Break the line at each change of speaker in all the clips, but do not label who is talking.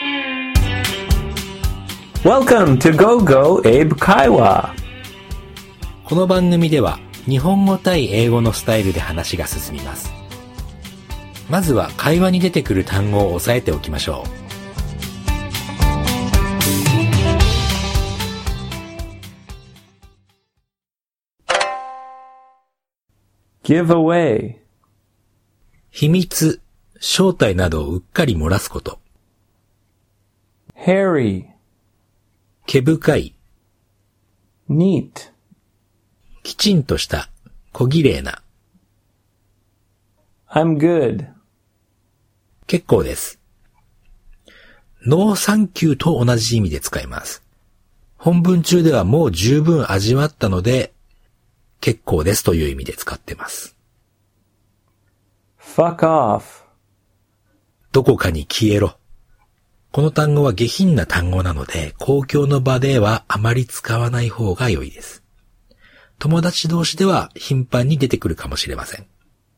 Welcome to GoGo Abe Kaiwa.
この番組では日本語対英語のスタイルで話が進みます。まずは会話に出てくる単語を押さえておきましょう。
Give away.
秘密、正体などをうっかり漏らすこと。
Hairy.
毛深い。
Neat.
きちんとした、小綺麗な。
I'm good.
結構です。ノーサンキューと同じ意味で使います。本文中ではもう十分味わったので、結構ですという意味で使ってます。
Fuck off.
どこかに消えろ。この単語は下品な単語なので、公共の場ではあまり使わない方が良いです。友達同士では頻繁に出てくるかもしれません。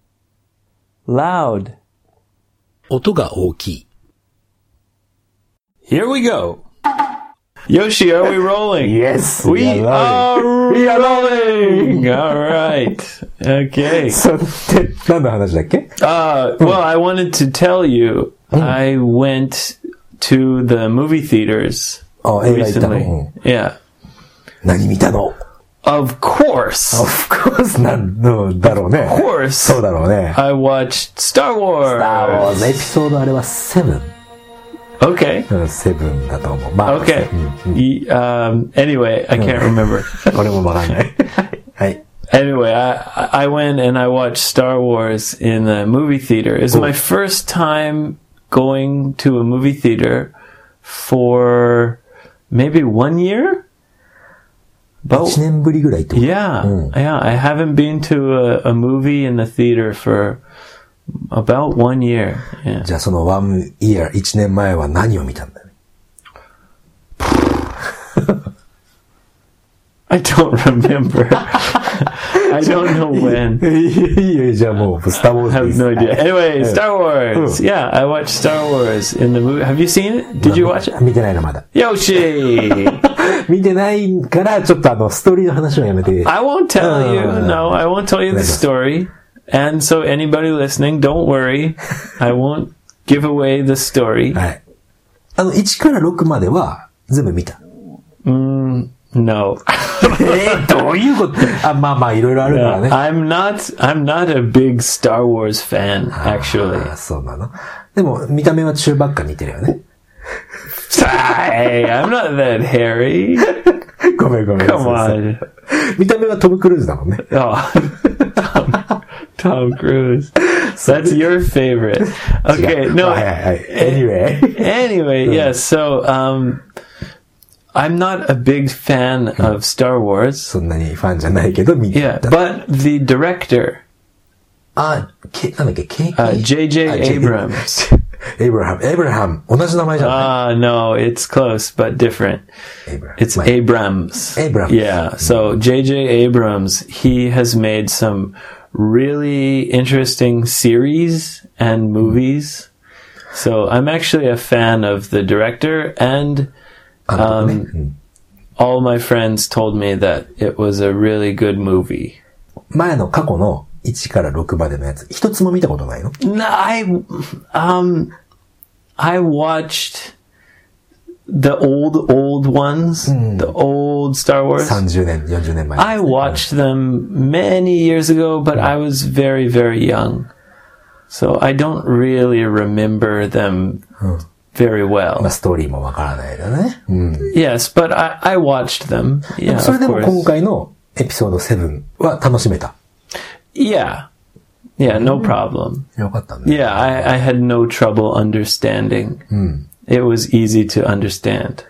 Loud.
音が大きい。
Here we go. Yoshi, are we rolling?
Yes,
We
we are
are rolling. All right. Okay.
それって何の話だっけ？
Well, I wanted to tell you, I went to the movie theaters
映画行ったの？
recently. Yeah.
何見たの？
Of course.
Of course なんのだろうね。
Of course.
そうだろうね。
I watched Star Wars.
エピソードあれは7。
Okay.
7だと思う。まあ、
Okay. Anyway, I can't remember.
俺もわかんない。はい。
Anyway, I went and I watched Star Wars in the movie theater. It's my first time going to a movie theater for maybe 1 year?
1年ぶりぐらいってこと？
Yeah. Yeah, I haven't been to a movie in the theater for about 1 year. Yeah.
じゃあその1 year、1年前は何を見たんだよね。
I don't remember. I don't know when.
いいよ、じゃあもう、スターウォー
I
ズ
have
です。
no idea. Anyway, Star Wars. Yeah, I watched Star Wars in the movie. Have you seen it? Did you watch it?
見てないのまだ。
Yoshi!
見てないから、ちょっとストーリーの話はやめて。
I won't tell you. No, I won't tell you the story. And so anybody listening, don't worry. I won't give away the story.
はい。1から6までは全部見た。
No.
どういうことまあまあ、いろいろあるからね。
I'm not a big Star Wars fan, actually.
そうなの。でも、見た目は中ばっか似てるよね。
Hey, I'm not that hairy.
ごめん。
Come on.
見た目はトム・クルーズだもんね。
Oh, Tom Cruise. That's your favorite. Okay, no. Anyway, yes. So, I'm not a big fan of Star Wars.
そんなにファンじゃないけど見た。
Yeah, but the director.
なんだっけ、
J.J. Abrams.
エイブラハム。同じ名前じゃない？
No, it's close, but different. It's Abrams. Yeah, so J.J. Abrams, he has made some really interesting series and movies. So I'm actually a fan of the director, and all my friends told me that it was a really good movie.
前の過去の1から6までのやつ、一つも見たことないの？
No, I watched the old ones, the old Star Wars.
30年、40年前。
I watched them many years ago, but I was very, very young. So I don't really remember them very well.
まあ、ストーリーもわからないだね。
Yes, but I watched them. Yeah,
それで
of
も
course.
今回のエピソード7は楽しめた。
Yeah. Yeah, no problem.
よかったね。
Yeah, I had no trouble understanding. It was easy to understand.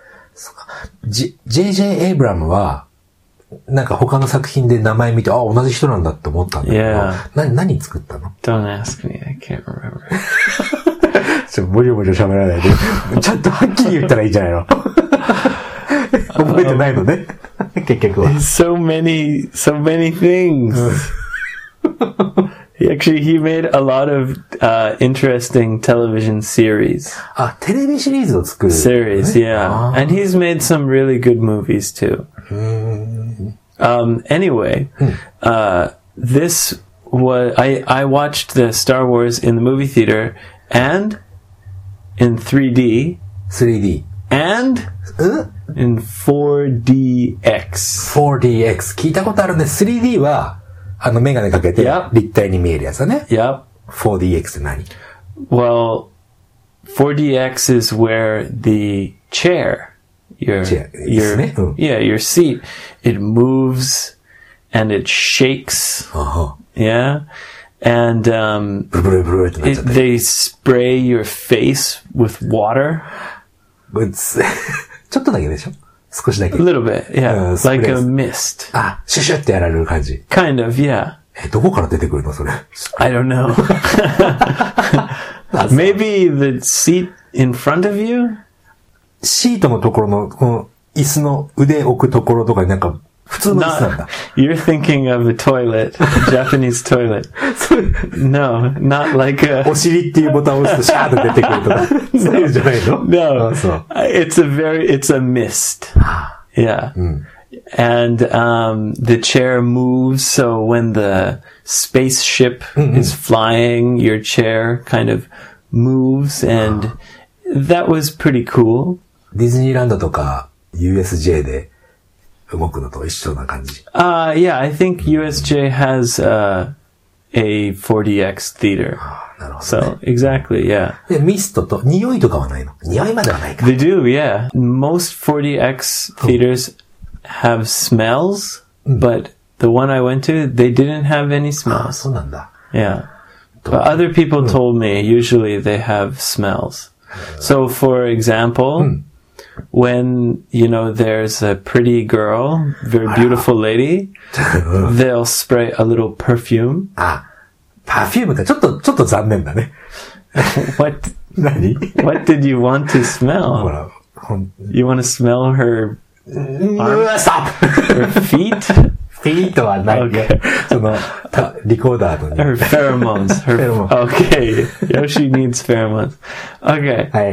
J.J. エイブラムは、なんか他の作品で名前見て、同じ人なんだって思ったんだけど、何作ったの？
Don't ask me, I can't remember.
ボリボリ喋らないで、ちゃんとはっきり言ったらいいんじゃないの？覚えてないのね。結局は。
So many things. Actually, he made a lot of interesting television series.
テレビシリーズを作る。
Series, yeah. And he's made some really good movies too. Anyway, this was, I watched the Star Wars in the movie theater and in 3D.
3D.
And in 4DX.
4DX。聞いたことあるね。3D は、メガネかけて、立体に見えるやつだね。
Yep.
4DX って何？
Well, 4DX is where the chair, your seat, it moves and it shakes. Yeah. And, they spray your face with water.
ちょっとだけでしょ？少しだけ。
A little bit, yeah. Like a mist.
シュシュってやられる感じ。
Kind of, yeah.
どこから出てくるのそれ。
I don't know. Maybe the seat in front of you?
シートのところの、この椅子の腕置くところとかになんか、普通の椅子なんだ。
You're thinking of a toilet, a Japanese toilet. No, not like a...
お尻っていうボタンを押すとシャーッと出てくるとか。そういうんじゃないの？
No. It's a mist. Yeah. And the chair moves, so when the spaceship is flying, your chair kind of moves, and that was pretty cool.
ディズニーランドとか USJ で動くのと一緒な感じ。
Yeah, I think USJ has a 4DX theater.
なるほどね。
So, exactly, yeah.
で、ミストと、匂いとかはないの？匂いまではないか。
They do, yeah. Most 4DX theaters have smells, but the one I went to, they didn't have any smells.
そうなんだ。
Yeah. But other people told me usually they have smells. So, for example, when, there's a pretty girl, very beautiful lady, they'll spray a little perfume.
パフュームか。ちょっと残念だね。
What?
何？
What did you want to smell?
ほら、
You want to smell her
Stop!
her feet?
フィートはないね。その、リコーダーのね。
Her pheromones. Okay. Yoshi needs pheromones. Okay.
はい。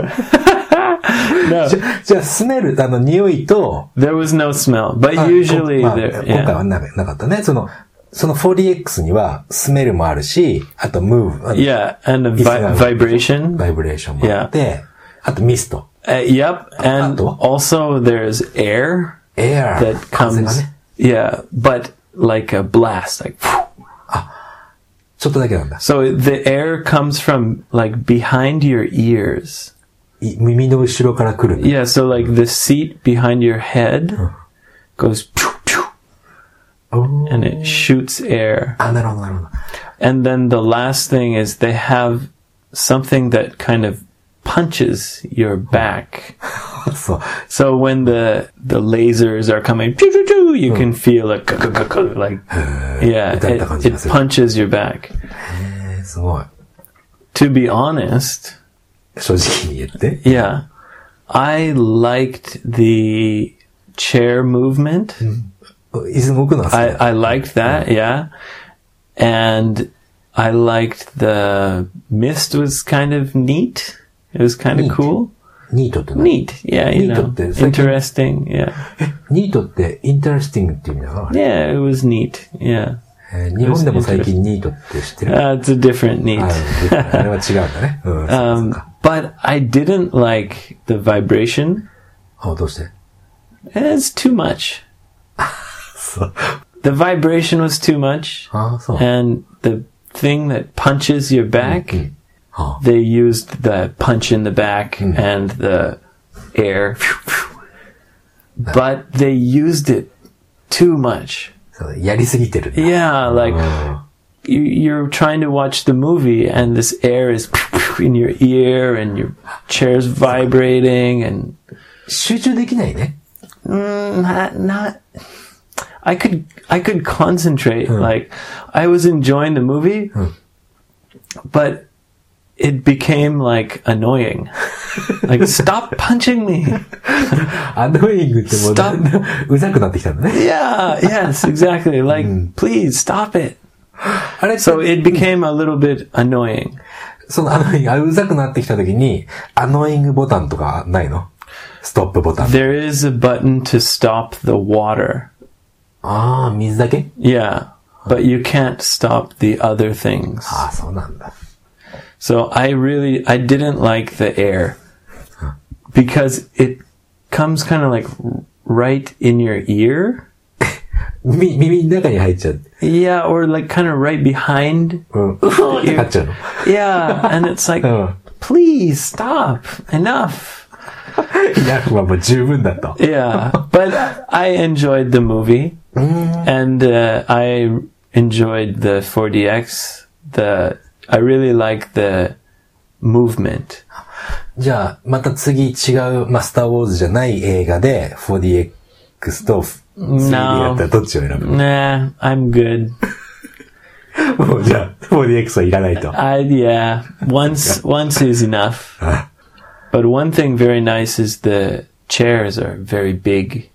No.
じゃあ、スメル、匂いと、
There was no smell, but usually there,
今回はなかったね。その 4DX にはスメルもあるし、あと move.
Yeah, and a vibration.
バイブレーションもあって、あとミスト。
Yep, and also there's air.
Air.
That comes, yeah, but like a blast, like,
ちょっとだけなんだ。
So the air comes from like behind your ears.
耳の後ろから来る。
Yeah, so like the seat behind your head goes and it shoots air.
なるほど、なるほど。
And then the last thing is they have something that kind of punches your back. So when the lasers are coming, you can feel like, yeah, it punches your back.
すごい。
To be honest,
正直に言って。
Yeah, I liked the chair movement. I liked that, yeah. And I liked the mist was kind of neat. It was kind of cool.
Neat って何？
Neat, yeah, interesting, yeah.
ニートってinteresting って意味なの？
Yeah, it was neat, yeah.
日本でも最近ニートって知ってる？
It's a different neat.
あれは違うんだね。
But I didn't like the vibration.
どうして？
It's too much. The vibration was too much. And the thing that punches your back, they used the punch in the back and the air. But they used it too much.
やりすぎてる。
Yeah, like you're trying to watch the movie and this air is in your ear and your chair's vibrating and
集中できないね。
not I could concentrate. Like I was enjoying the movie, but it became like annoying. Like stop punching me.
Annoying ってもううざくなってきたんだね。
Yeah, yes, exactly. Like please stop it.
あれ
So it became a little bit annoying.
そのうざくなってきた時に、アノイングボタンとかないの？ストップボタン。
There is a button to stop the water.
ああ、水だけ？
Yeah, but you can't stop the other things.
ああ、そうなんだ。
So I didn't like the air because it comes kind of like right in your ear.
耳の中に入っちゃう。
Yeah, or like kind of right behind.
うん。ってなっちゃうの。
Yeah, and it's like, please stop. Enough.
いや、まあもう十分だと。
Yeah, but I enjoyed the movie, and I enjoyed the 4DX. I really like the movement.
じゃあ、また次違う、スター・ウォーズじゃない映画で 4DX と 3D だったらどっちを選ぶ？
Nah, I'm good.
もうじゃあ、4DX はいらないと。
Yeah, once is enough. But one thing very nice is the chairs are very big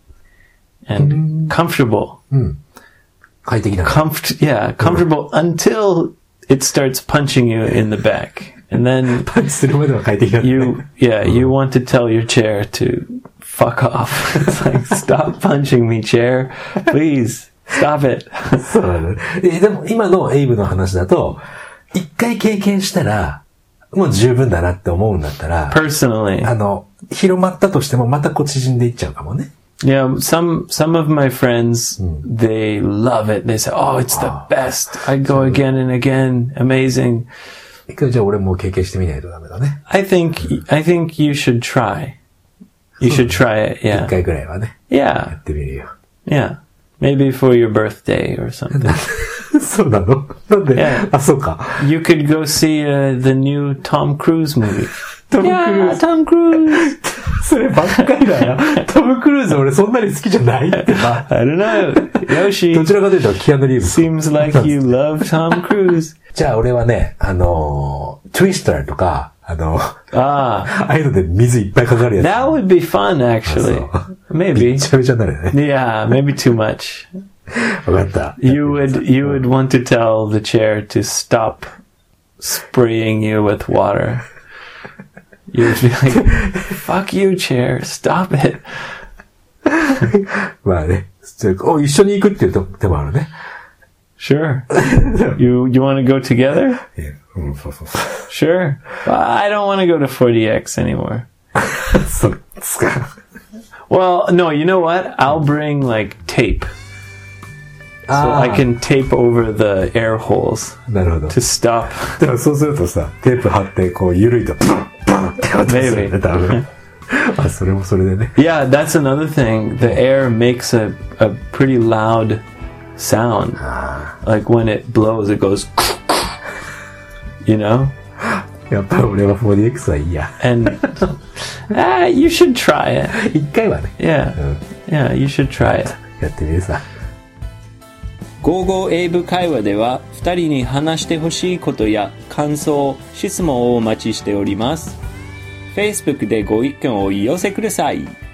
and comfortable.
快適だね。
Comfortable until it starts punching you in the back. And then
パンチするまでは快適だね。
you want to tell your chair to fuck off. It's like, stop punching me, chair. Please, stop it.
そうだね。でも今のエイブの話だと、一回経験したら、もう十分だなって思うんだったら、
Personally.
広まったとしてもまた縮んでいっちゃうかもね。
Yeah, some of my friends, they love it. They say, oh, it's the best. I go again and again. Amazing.
一回じゃあ俺も経験してみないとダメだね。
I think you should try. You should try it, yeah.
一回ぐらいはね。
Yeah.
やってみるよ。
Yeah. Maybe for your birthday or something.
そうなの？なんで？
Yeah.
あ、そうか。
You could go see the new Tom Cruise movie.
トム・クルーズ。
Tom Cruise.
そればっかりだよ。トム・クルーズ俺そんなに好きじゃないってば。
I don't know. Yoshi.
どちらかというとキアヌ・リーブス。
Seems like you love Tom Cruise.
じゃあ俺はね、トゥイスターとか、ああいうので水いっぱいかかるやつ。
That would be fun, actually. Maybe.
めちゃめちゃなるよね。
Yeah, maybe too much.
わかった。
You would want to tell the chair to stop spraying you with water. You'd be like, fuck you, chair, stop it.
まあね。一緒に行くっていう手もあるね。
Sure. You want to go together?
そうそう。
Sure. Well, I don't want to go to 4DX anymore.
そうですか。
Well, no, you know what? I'll bring like tape. So I can tape over the air holes
なるほど。
to stop.
でもそうするとさ、テープ貼ってこう緩いとブンブンって音するよね、多分。あ、それもそれでね。
Yeah, that's another thing. The air makes a pretty loud sound. Like when it blows, it goes, you know?
やっぱり俺は 4DX はいいや。
And you should try it.
一回はね。
Yeah, you should try it.
やってみるさ。
55英語会話では2人に話してほしいことや感想、質問をお待ちしております。Facebook でご意見をお寄せください。